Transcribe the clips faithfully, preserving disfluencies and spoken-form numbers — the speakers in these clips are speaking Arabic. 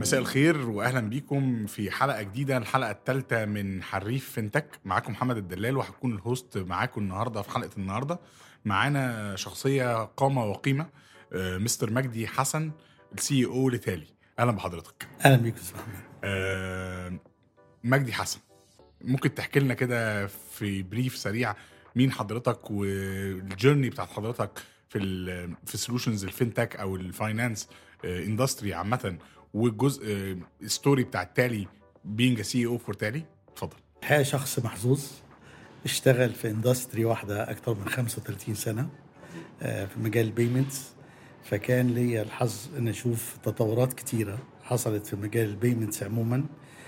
مساء الخير واهلا بيكم في حلقه جديده، الحلقه الثالثه من حريف فينتك. معاكم محمد الدلال وهكون الهوست معاكم النهارده. في حلقه النهارده معانا شخصيه قامه وقيمه، آه، مستر مجدي حسن، السي او لتالي. اهلا بحضرتك. اهلا بيك استاذ محمد. آه، مجدي حسن، ممكن تحكي لنا كده في بريف سريع مين حضرتك والجيرني بتاعت حضرتك في ال في سولوشنز الفينتك او الفاينانس اندستري عامه، والجزء ستوري بتاع تالي بينج سي او فور تالي؟ اتفضل. الحقيقه شخص محظوظ، اشتغل في اندستري واحده اكتر من خمسة وثلاثين سنه في مجال البيمنتس، فكان لي الحظ ان اشوف تطورات كتيره حصلت في مجال البيمنتس عموما،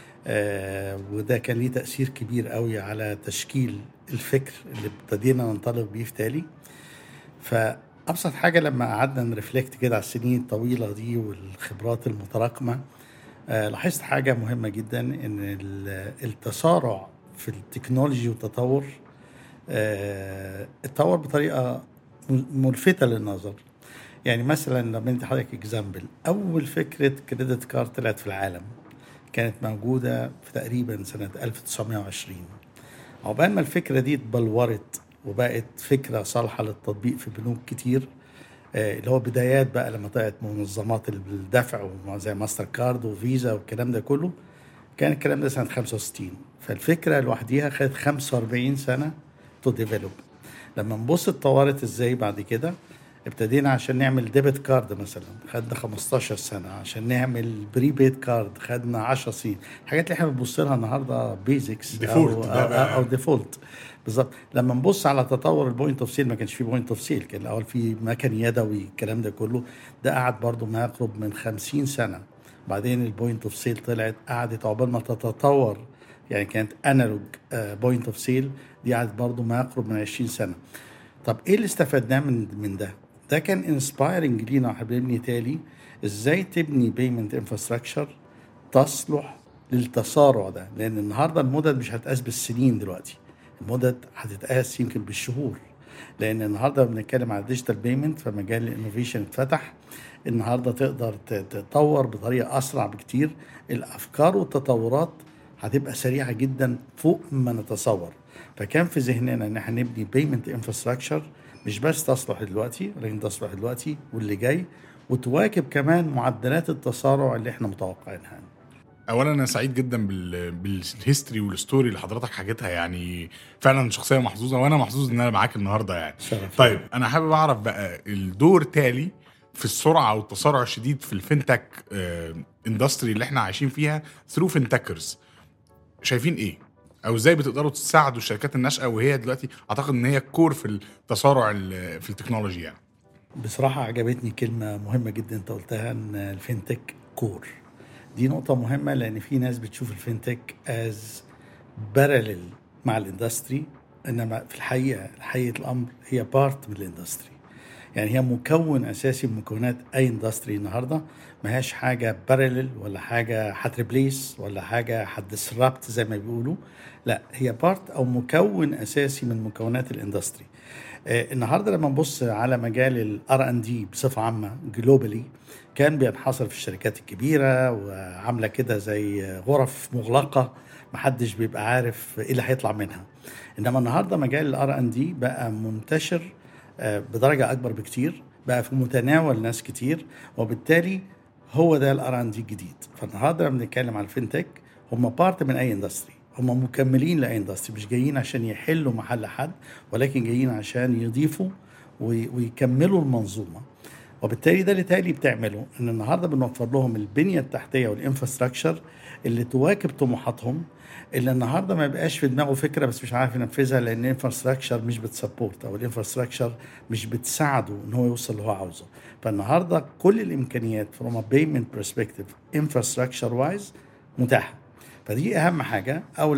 وده كان ليه تاثير كبير قوي على تشكيل الفكر اللي ابتدينا ننطلق بيه في تالي. فابسط حاجه لما قعدنا نرفلكت كده على السنين الطويله دي والخبرات المتراكمه، آه لاحظت حاجة مهمة جدا، ان التسارع في التكنولوجي والتطور آه اتطور بطريقة ملفتة للنظر. يعني مثلا لما انت حضرتك اكزامبل، اول فكرة كريدت كارد طلعت في العالم كانت موجودة في تقريبا سنة ألف وتسعمائة وعشرين. عقبال ما الفكرة دي اتبلورت وبقت فكرة صالحة للتطبيق في بنوك كتير، اللي هو بدايات بقى لما طلعت منظمات الدفع زي ماستر كارد وفيزا والكلام ده كله، كان الكلام ده سنة خمسة وستين. فالفكرة لوحديها خدت خمسة وأربعين سنة تو ديفلوب. لما نبص اتطورت ازاي بعد كده، ابتدينا عشان نعمل ديبت كارد مثلا خدنا خمستاشر سنة، عشان نعمل بريبيد كارد خدنا عشر سنين. الحاجات اللي احنا بنبص لها النهارده بيزكس او او, أو ديفولت بالظبط. لما نبص على تطور البوينت اوف سيل، ما كانش في بوينت اوف سيل، كان الاول في مكن يدوي الكلام ده كله، ده قعد برضو ما يقرب من خمسين سنة. بعدين البوينت اوف سيل طلعت، قعدت عقبال ما تتطور، يعني كانت انالوج بوينت اوف سيل، دي قعدت برضو ما يقرب من عشرين سنة. طب ايه اللي استفدناه من من ده؟ ده كان انسبايرنج لينا واحنا بنبني تالي، ازاي تبني بيمنت انفراستراكشر تصلح للتسارع ده. لان النهارده المدد مش هتقاس بالسنين، دلوقتي المدد هتتقاس يمكن بالشهور، لان النهارده بنتكلم على ديجيتال بيمنت، فمجال الانوفيشن اتفتح. النهارده تقدر تطور بطريقه اسرع بكتير، الافكار والتطورات هتبقى سريعه جدا فوق ما نتصور. فكان في ذهننا ان احنا نبني بيمنت انفراستراكشر مش بس تصلح دلوقتي، ولكن تصلح دلوقتي واللي جاي، وتواكب كمان معدلات التسارع اللي احنا متوقعينها. اولا انا سعيد جدا بال بالهيستوري والستوري اللي حضرتك حكيتها، يعني فعلا شخصيه محظوظه، وانا محظوظ ان انا معاك النهارده يعني. شرف. طيب انا حابب اعرف بقى الدور تالي في السرعه والتسارع الشديد في الفينتك اندستري اللي احنا عايشين فيها ثرو فينتكرز. شايفين ايه او ازاي بتقدروا تساعدوا الشركات الناشئه وهي دلوقتي اعتقد ان هي الكور في التسارع في التكنولوجيا يعني؟ بصراحه عجبتني كلمه مهمه جدا انت قلتها، ان الفينتك كور. دي نقطه مهمه، لان في ناس بتشوف الفينتك از بارلل مع الاندستري، انما في الحقيقه حقيقه الامر هي بارت من الاندستري. يعني هي مكون اساسي من مكونات اي اندستري النهارده، ما هيش حاجه بارلل ولا حاجه هتريبليس ولا حاجه هتدسربت زي ما بيقولوا، لا هي بارت او مكون اساسي من مكونات الاندستري. آه النهارده لما نبص على مجال الار ان دي بصفه عامه جلوبالي، كان بينحصر في الشركات الكبيره وعامله كده زي غرف مغلقه، محدش بيبقى عارف ايه اللي هيطلع منها. انما النهارده مجال الار ان دي بقى منتشر بدرجة أكبر بكتير، بقى في متناول ناس كتير، وبالتالي هو ده الار ان دي الجديد. فالنهارده لما بنتكلم على الفينتك، هم بارت من أي اندستري، هم مكملين لأي اندستري، مش جايين عشان يحلوا محل حد، ولكن جايين عشان يضيفوا ويكملوا المنظومة. وبالتالي ده اللي تالي بتعمله، ان النهارده بنوفر لهم البنيه التحتيه والانفراستراكشر اللي تواكب طموحاتهم، اللي النهارده ما يبقاش في دماغه فكره بس مش عارف ينفذها، لان الانفراستراكشر مش بتسبورت او الانفراستراكشر مش بتساعده ان هو يوصل اللي هو عاوزه. فالنهارده كل الامكانيات from a payment perspective infrastructure wise متاحه. فدي اهم حاجه، او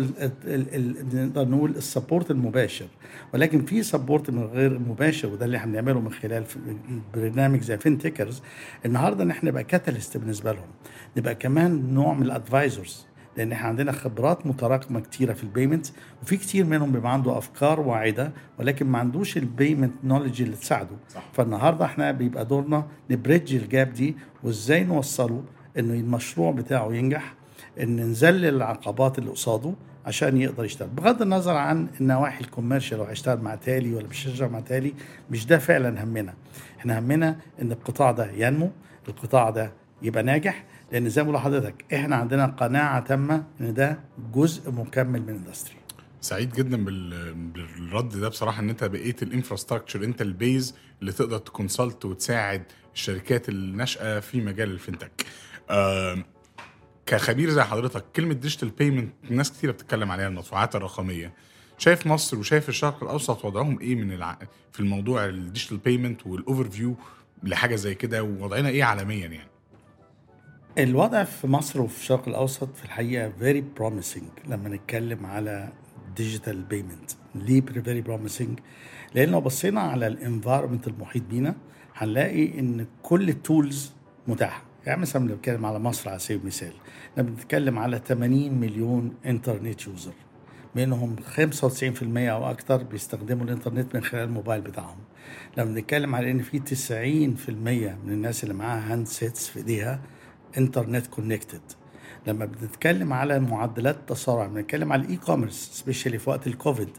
نقدر نقول السبورت المباشر. ولكن في سبورت من غير مباشر، وده اللي احنا بنعمله من خلال برنامج زي فينتكرز النهارده، ان احنا نبقى كاتاليست بالنسبه لهم، نبقى كمان نوع من الادفايزرز، لان احنا عندنا خبرات متراكمه كتيره في البيمنت، وفي كتير منهم بيبقى عنده افكار واعده ولكن ما عندوش البيمنت نوليدج اللي تساعده. صح. فالنهارده احنا بيبقى دورنا نبريدج الجاب دي، وازاي نوصله انه المشروع بتاعه ينجح، ان نذلل العقبات اللي قصاده عشان يقدر يشتغل، بغض النظر عن النواحي الكوميرشال، لو هيشتغل مع تالي ولا مش هيشتغل مع تالي. مش ده فعلا همنا. احنا همنا ان القطاع ده ينمو، القطاع ده يبقى ناجح، لان زي ما بقول لحضرتك احنا عندنا قناعه تامه ان ده جزء مكمل من الاندستري. سعيد جدا بال- بالرد ده بصراحه، ان انت بقيت الانفراستراكشر، انت البيز اللي تقدر تكونسلت وتساعد الشركات الناشئه في مجال الفinTech. آه كخبير زي حضرتك، كلمه ديجيتال بيمنت ناس كتير بتتكلم عليها، المدفوعات الرقميه. شايف مصر وشايف الشرق الاوسط وضعهم ايه من الع... في الموضوع الديجيتال بيمنت والاوفر فيو لحاجه زي كده، ووضعنا ايه عالميا يعني؟ الوضع في مصر وفي الشرق الأوسط في الحقيقة very promising لما نتكلم على digital payment. ليه very promising؟ لأن لو بصينا على الانفايرمنت المحيط بينا هنلاقي إن كل التولز متاحة. يعني مثلا بنتكلم على مصر على سبيل المثال، لما بنتكلم على ثمانين مليون انترنت يوزر، منهم خمسة وتسعين بالمية أو أكتر بيستخدموا الإنترنت من خلال الموبايل بتاعهم. لما بنتكلم على إن في تسعين بالمية من الناس اللي معاها هاند سيتس في إيديها انترنت كونكتد. لما بنتكلم على معدلات التسارع، بنتكلم على الاي كوميرس سبيشالي في وقت الكوفيد،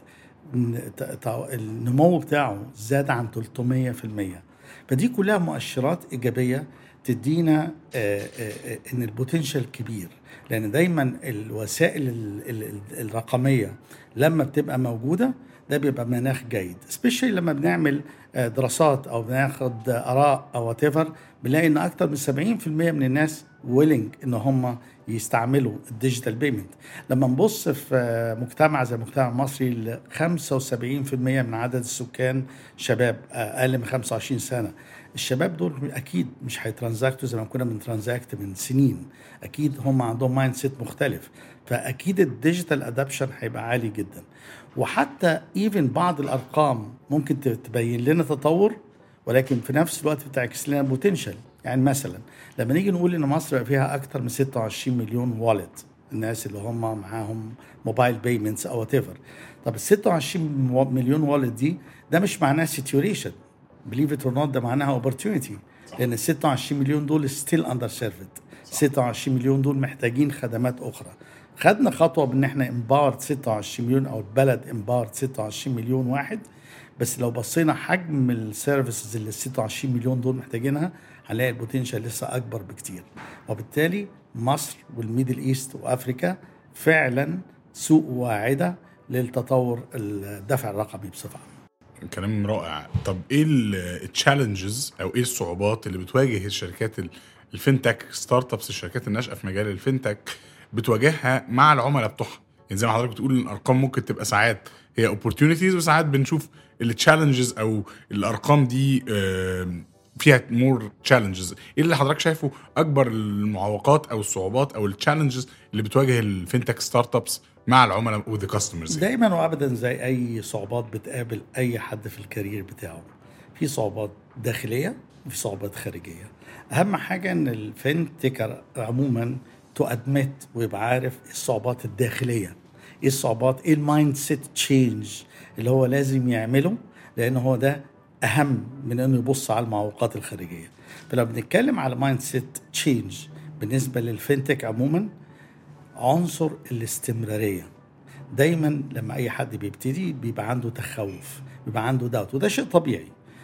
النمو بتاعه زاد عن ثلاثمية بالمية. فدي كلها مؤشرات ايجابيه تدينا ان البوتنشال كبير، لان دايما الوسائل الرقميه لما بتبقى موجوده ده بيبقى مناخ جيد، سبيشالي لما بنعمل دراسات او بناخد اراء او whatever، بنلاقي ان اكتر من سبعين بالمية من الناس ويلنج ان هم يستعملوا الديجيتال بيمنت. لما نبص في مجتمع زي المجتمع المصري، خمسة وسبعين بالمية من عدد السكان شباب اقل من خمسة وعشرين سنه. الشباب دول اكيد مش هيترانزاكتوا زي ما كنا بنترانزاكت من سنين، اكيد هم عندهم مايند سيت مختلف، فاكيد الديجيتال ادابشن هيبقى عالي جدا. وحتى ايفن بعض الارقام ممكن تبين لنا تطور، ولكن في نفس الوقت بتعكس لنا بوتنشال. يعني مثلا لما نيجي نقول ان مصر بقى فيها اكتر من ستة وعشرين مليون والت، الناس اللي هم معاهم موبايل بيمنتس او وات ايفر. طب ال ستة وعشرين مليون والت دي، ده مش معناه سيتوريشن، بليف ات اور نوت، ده معناها اوبورتيونيتي، لان ال ستة وعشرين مليون دول ستيل اندر سيرفد. ستة وعشرين مليون دول محتاجين خدمات اخرى. خدنا خطوه بان احنا امبارد ستة وعشرين مليون، او البلد امبارد ستة وعشرين مليون واحد، بس لو بصينا حجم السيرفيسز اللي ال ستة وعشرين مليون دول محتاجينها هنلاقي البوتنشال لسه اكبر بكتير. وبالتالي مصر والميدل ايست وافريكا فعلا سوق واعده للتطور الدفع الرقمي بصفه عامه. كلام رائع. طب ايه التشالنجز او ايه الصعوبات اللي بتواجه الشركات الفinTech ستارت ابس، الشركات الناشئه في مجال الفinTech بتواجهها مع العملاء بتوعها؟ يعني زي ما حضرتك بتقول الارقام ممكن تبقى ساعات هي opportunities، وساعات بنشوف التشالنجز او الارقام دي فيها مور تشالنجز. ايه اللي حضرتك شايفه اكبر المعوقات او الصعوبات او التشالنجز اللي بتواجه الفinTech ستارت ابس مع العملاء وذا كاستمرز؟ دايما وابدا زي اي صعوبات بتقابل اي حد في الكارير بتاعه، في صعوبات داخليه وفي صعوبات خارجيه. اهم حاجه ان الفinTech عموما تو ادمت ويبقى عارف الصعوبات الداخليه، ايه الصعوبات، ايه المايند سيت تشينج اللي هو لازم يعمله، لان هو ده اهم من انه يبص على المعوقات الخارجيه. فلو بنتكلم على مايند سيت تشينج بالنسبه للفinTech عموما، عنصر الاستمراريه. دايما لما اي حد بيبتدي بيبقى عنده تخوف، بيبقى عنده داوت، وده شيء طبيعي.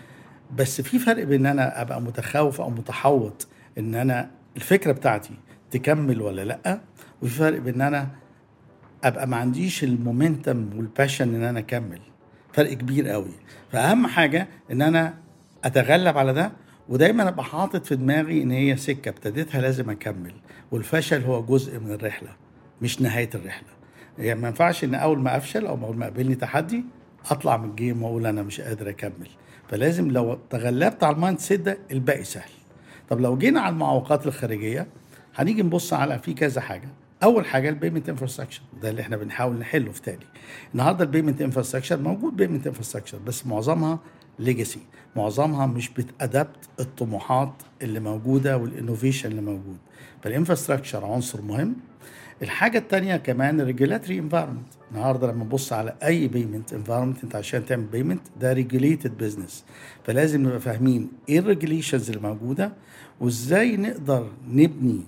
بس في فرق بين ان انا ابقى متخوف او متحوط ان انا الفكره بتاعتي تكمل ولا لا، وفي فرق بين ان انا ابقى ما عنديش المومنتم والباشن ان انا اكمل. فرق كبير قوي. فاهم حاجه ان انا اتغلب على ده، ودايما ابقى حاطط في دماغي ان هي سكه ابتديتها لازم اكمل، والفشل هو جزء من الرحله مش نهايه الرحله. يعني ما ينفعش ان اول ما افشل او اول ما قابلني تحدي اطلع من الجيم واقول انا مش قادر اكمل. فلازم لو تغلبت على المايند سيت ده الباقي سهل. طب لو جينا على المعوقات الخارجيه، هنيجي نبص على في كذا حاجه. اول حاجه البيمنت انفراستراكشر، ده اللي احنا بنحاول نحله في تاني. النهارده البيمنت انفراستراكشر موجود، بيمنت انفراستراكشر بس معظمها ليجاسي، معظمها مش بتادبت الطموحات اللي موجوده والانوفيشن اللي موجود. فالانفراستراكشر عنصر مهم. الحاجه الثانيه كمان الريجولاتوري انفايرمنت. النهارده لما نبص على اي بيمنت انفايرمنت، انت عشان تعمل بيمنت ده ريجوليتد بزنس، فلازم نبقى فاهمين ايه الريجوليشنز اللي موجوده، وازاي نقدر نبني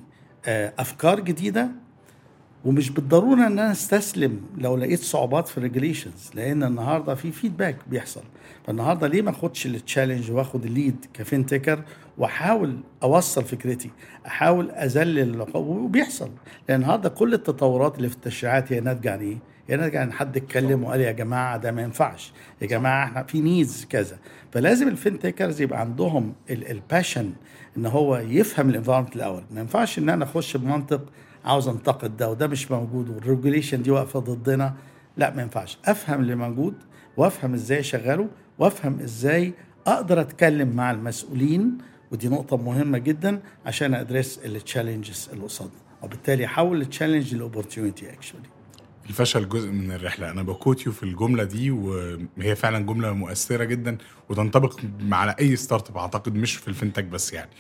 آه، افكار جديده، ومش بالضروره ان انا استسلم لو لقيت صعوبات في الريجوليشنز، لان النهارده في فيدباك بيحصل. فالنهارده ليه ما اخدش التشالنج واخد الليد كفينتكر واحاول اوصل فكرتي، احاول اذلل، وبيحصل. لان النهارده كل التطورات اللي في التشريعات هي ناتجه عن ايه؟ هي ناتجه عن حد اتكلم وقال يا جماعه ده ما ينفعش، يا جماعه احنا في نيدز كذا. فلازم الفينتكرز يبقى عندهم الباشن ان هو يفهم الانفايرمنت الاول. ما ينفعش ان انا اخش بمنطق عاوز انتقد ده وده مش موجود والريجوليشن دي واقفه ضدنا. لا، ما ينفعش. افهم اللي موجود وافهم ازاي اشغله وافهم ازاي اقدر اتكلم مع المسؤولين، ودي نقطه مهمه جدا عشان ادرس التشالنجز اللي قصادنا، وبالتالي احول التشالنج لاوبورتيونيتي. اكشولي الفشل جزء من الرحله، انا بكوتيو في الجمله دي، وهي فعلا جمله مؤثره جدا وتنطبق على اي ستارت اب اعتقد، مش في الفinTech بس. يعني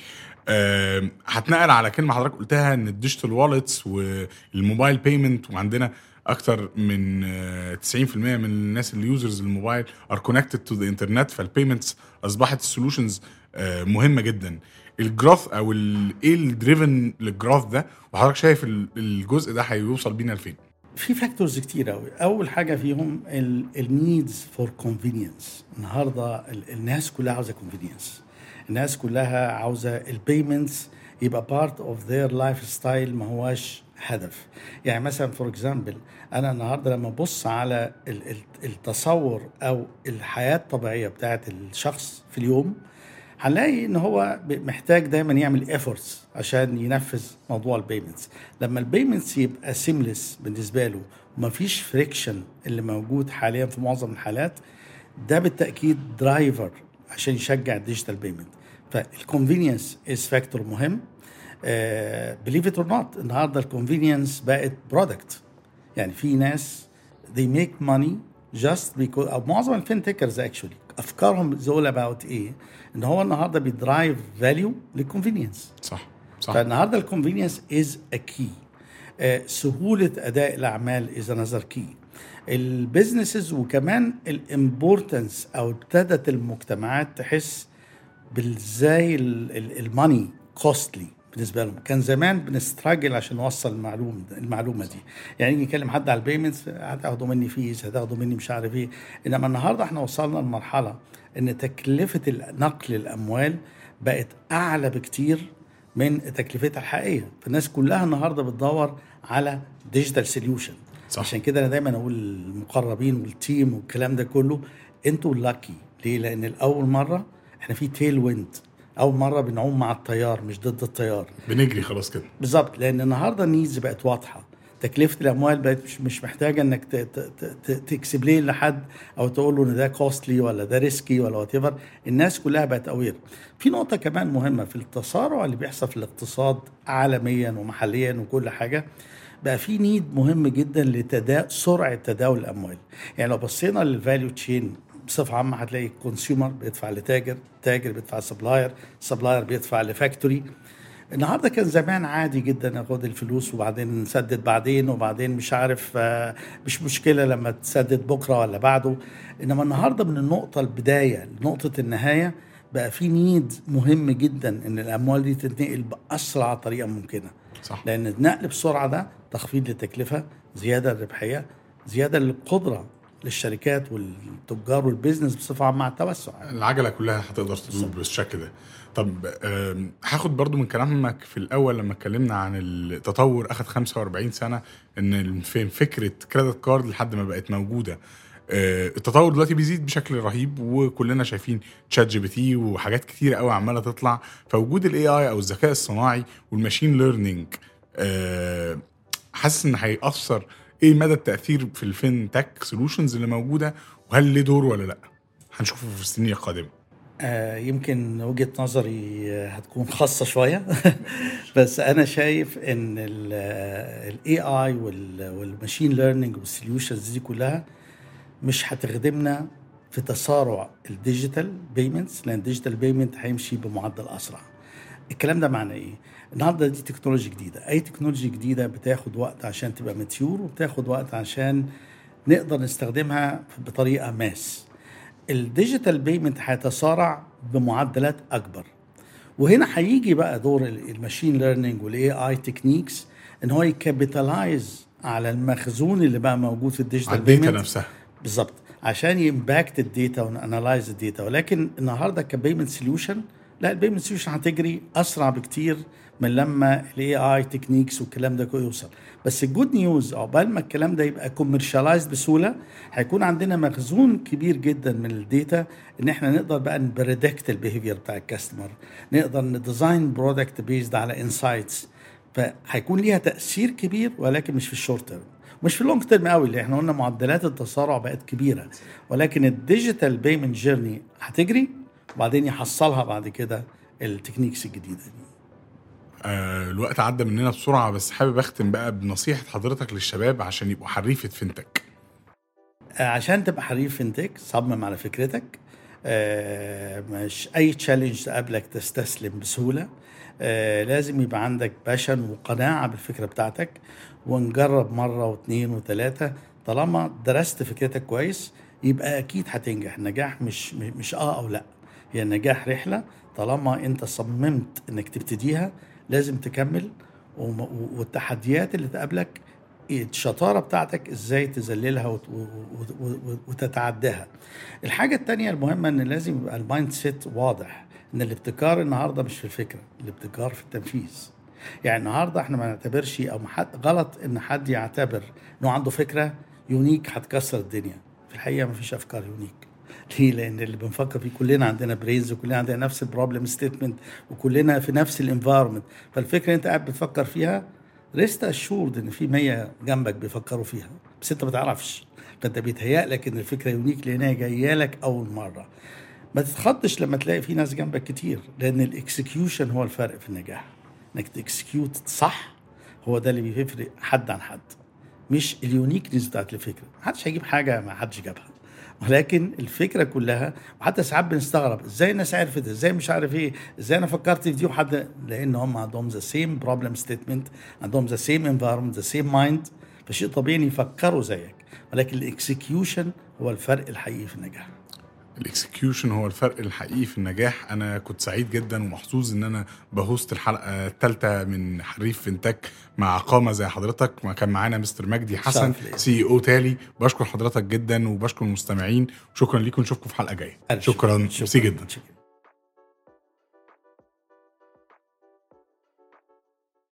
أه هتنقل على كلمه حضرتك قلتها ان الديجيتال والتس والموبايل بيمنت، وعندنا اكتر من أه تسعين في المية من الناس اللي يوزرز الموبايل ار كونكتد تو ذا انترنت، فالبيمنتس اصبحت السولوشنز أه مهمه جدا. الجروث او ايه الدريفن للجروث ده، وحضرتك شايف الجزء ده هيوصل بينا لفين؟ في فاكتورز كتير قوي. اول حاجه فيهم النيدز فور كونفينينس. النهارده ال- الناس كلها عاوزه كونفينينس، الناس كلها عاوزه البيمنتس يبقى بارت اوف ذير لايف ستايل، ما هواش هدف. يعني مثلا فور اكزامبل، انا النهارده لما ابص على ال- ال- التصور او الحياه الطبيعيه بتاعت الشخص في اليوم، هنلاقي ان هو محتاج دايما يعمل efforts عشان ينفذ موضوع البيمنتس. لما البيمنتس يبقى سيملس بالنسبه له ومفيش فريكشن اللي موجود حاليا في معظم الحالات، ده بالتاكيد درايفر عشان يشجع الديجيتال بيمنت. فالكونفينينس از فاكتور مهم. بليف ات اور نوت، النهارده الكونفينينس بقت برودكت. يعني في ناس they make money just because، او معظم الفينتكرز اكشولي افكارهم زول اباوت ايه؟ ان هو النهارده بيدرايف فاليو للكونفينينس. صح صح. فالنهارده الكونفينينس از ا كي. سهوله اداء الاعمال از انذر كي. البيزنسز وكمان الامبورتنس، او ابتدت المجتمعات تحس بالزاي الماني كوستلي بالنسبه لهم. كان زمان بنستراجل عشان نوصل المعلومه المعلومه دي. يعني يجي يكلم حد على البيمنتس، هتاخدوا مني فيز، هتاخدوا مني مش عارف ايه. انما النهارده احنا وصلنا لمرحله ان تكلفه نقل الاموال بقت اعلى بكتير من تكلفتها الحقيقيه. فالناس كلها النهارده بتدور على ديجيتال سوليوشن. عشان كده انا دايما اقول المقربين والتيم والكلام ده كله، انتوا لاكي. ليه؟ لان الاول مره احنا في تيل ويند، اول مره بنعوم مع التيار مش ضد التيار، بنجري خلاص كده بالظبط. لان النهارده النيدز بقت واضحه، تكلفه الاموال بقت مش, مش محتاجه انك تكسب ليه لحد او تقول له ان ده كوستلي ولا ده ريسكي ولا وات ايفر. الناس كلها بقت اوير. في نقطه كمان مهمه في التسارع اللي بيحصل في الاقتصاد عالميا ومحليا وكل حاجه، بقى في نيد مهم جدا لتدا سرعه تداول الاموال. يعني لو بصينا للفاليو تشين بصفه عامه، هتلاقي كونسيومر بيدفع لتاجر، تاجر بيدفع سبلاير، سبلاير بيدفع لفاكتوري. النهارده كان زمان عادي جدا اخد الفلوس وبعدين نسدد بعدين، وبعدين مش عارف مش مشكله لما تسدد بكره ولا بعده. انما النهارده من النقطه البدايه لنقطه النهايه بقى في نيد مهم جدا ان الاموال دي تتنقل باسرع طريقه ممكنه. صح. لان النقل بسرعه ده تخفيض للتكلفه، زياده للربحيه، زياده للقدره للشركات والتجار والبيزنس بصفه عامه على التوسع. العجله كلها هتقدر تدور بالشكل ده. طب هاخد برضو من كلامك في الاول لما اتكلمنا عن التطور اخذ خمسة وأربعين سنه، ان فين فكره كريدت كارد لحد ما بقت موجوده. التطور دلوقتي بيزيد بشكل رهيب، وكلنا شايفين تشات جي بي تي وحاجات كتيره قوي عماله تطلع. فوجود الاي اي او الذكاء الصناعي والماشين ليرنينج، حاسس ان هيأثر ايه مدى التأثير في الفين تك سولوشنز اللي موجودة، وهل ليه دور ولا لا؟ هنشوفه في السنين القادمة. آه يمكن وجهة نظري هتكون خاصة شوية بس أنا شايف إن ال إيه آي والماشين ليرنينج والسوليوشنز دي كلها مش هتخدمنا في تسارع الديجيتال بيمنتس، لأن الديجيتال بيمنت هيمشي بمعدل أسرع. الكلام ده معناه إيه؟ النهارده دي تكنولوجيا جديدة. أي تكنولوجيا جديدة بتاخد وقت عشان تبقى ماتيور، وبتاخد وقت عشان نقدر نستخدمها بطريقة ماس. الديجيتال بيمنت هيتسارع بمعدلات اكبر، وهنا هيجي بقى دور الماشين ليرنينج والاي اي تكنيكس ان هو يكابيتالايز على المخزون اللي بقى موجود في الديجيتال على الداتا بيمنت نفسها بالظبط عشان يمباكت الداتا ونانلايز الداتا. ولكن النهارده كبيمنت سوليوشن لا، البيمنت سوليوشن هتجري اسرع بكتير من لما الاي اي تكنيكس والكلام ده كله يوصل. بس الجود نيوز عقبال ما الكلام ده يبقى كوميرشالايزد بسهوله هيكون عندنا مخزون كبير جدا من الداتا ان احنا نقدر بقى نبريدكت البيهيفير بتاع الكاستمر، نقدر نديزاين برودكت بيزد على انسايتس. فهيكون ليها تاثير كبير ولكن مش في الشورت تيرم، مش في اللونج تيرم قوي اللي احنا قلنا معدلات التسارع بقت كبيره. ولكن الديجيتال بيمنت جيرني هتجري وبعدين يحصلها بعد كده التكنيكس الجديده دي. آه الوقت عدى مننا بسرعه، بس حابب اختم بقى بنصيحه حضرتك للشباب عشان يبقوا حريفه فينتك. آه عشان تبقى حريف فينتك صمم على فكرتك. آه مش اي تشالنج تقابلك تستسلم بسهوله. آه لازم يبقى عندك باشن وقناعه بالفكره بتاعتك، ونجرب مره واثنين وثلاثه. طالما درست فكرتك كويس يبقى اكيد هتنجح. النجاح مش مش اه او لا، هي النجاح رحله. طالما انت صممت انك تبتديها لازم تكمل. والتحديات اللي تقابلك الشطاره بتاعتك ازاي تذللها وتتعداها. الحاجه التانية المهمه ان لازم يبقى المايند سيت واضح ان الابتكار النهارده مش في الفكره، الابتكار في التنفيذ. يعني النهارده احنا ما نعتبرش او حد غلط ان حد يعتبر انه عنده فكره يونيك هتكسر الدنيا. في الحقيقه ما فيش افكار يونيك. ليه؟ لان اللي بنفكر فيه كلنا عندنا برينز وكلنا عندنا نفس البروبلم ستيتمنت وكلنا في نفس الانفايرمنت. فالفكره انت قاعد بتفكر فيها ريست اشورد ان في مية جنبك بيفكروا فيها بس انت ما تعرفش. فانت بيتهيأ لك ان الفكره يونيك لانها جايه لك اول مره. ما تتخضش لما تلاقي في ناس جنبك كتير، لان الاكسكيوشن هو الفرق في النجاح. انك تكسكيوت صح هو ده اللي بيفرق حد عن حد، مش اليونيكنس بتاعت الفكره. محدش هيجيب حاجه ما حدش جابها، ولكن الفكره كلها. وحتى ساعات بنستغرب ازاي الناس عرفت، ازاي مش عارف ايه، ازاي انا فكرت في دي وحد، لان هم عندهم ذا سيم بروبلم ستيتمنت، عندهم ذا سيم انفايرمنت، ذا سيم مايند. فشيء طبيعي يفكروا زيك، ولكن الاكسكيوشن هو الفرق الحقيقي في النجاح. الاكسكيوشن هو الفرق الحقيقي في النجاح. انا كنت سعيد جدا ومحظوظ ان انا بهوست الحلقه الثالثه من حريف فينتك مع قامه زي حضرتك. ما كان معانا مستر مجدي حسن سي او تالي. بشكر حضرتك جدا وبشكر المستمعين. شكرا لكم، نشوفكم في حلقه جايه. شكرا, شكرا. شكرا. جدا.